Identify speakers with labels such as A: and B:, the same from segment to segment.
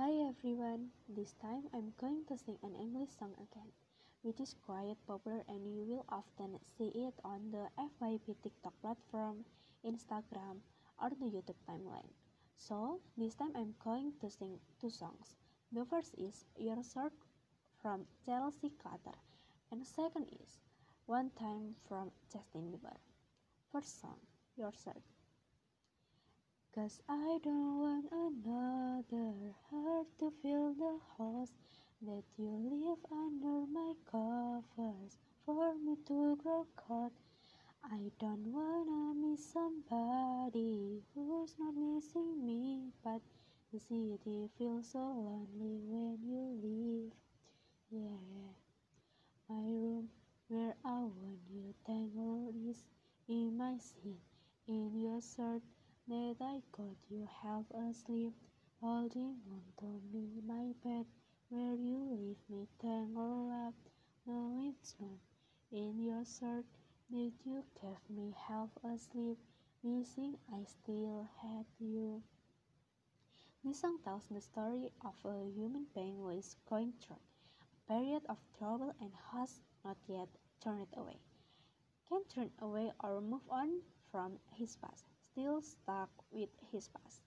A: Hi everyone, this time I'm going to sing an English song again, which is quite popular and you will often see it on the FYP TikTok platform, Instagram, or the YouTube timeline. So, this time I'm going to sing two songs. The first is Your Shirt from Chelsea Clutter, and the second is One Time from Justin Bieber. First song, Your Shirt. 'Cause I don't want another heart to feel the holes that you leave under my covers for me to grow cold. I don't wanna miss somebody who's not missing me, but the city feels so lonely when you leave. Yeah, my room where I want you tangled is in my seat, in your shirt that I got you half asleep, holding on to me, my bed where you leave me tangled up. No, it's not in your shirt that you gave me half asleep, wishing I still had you. This song tells the story of a human being who is going through a period of trouble and has not yet turned away. Can't turn away or move on from his past, still stuck with his past.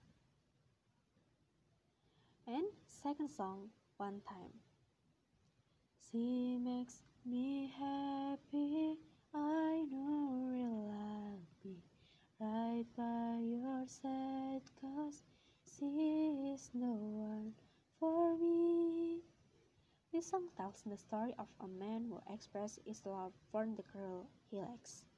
A: And second song, One Time. She makes me happy, I know I'll be right by your side, 'cause she is the one for me. This song tells the story of a man who expresses his love for the girl he likes.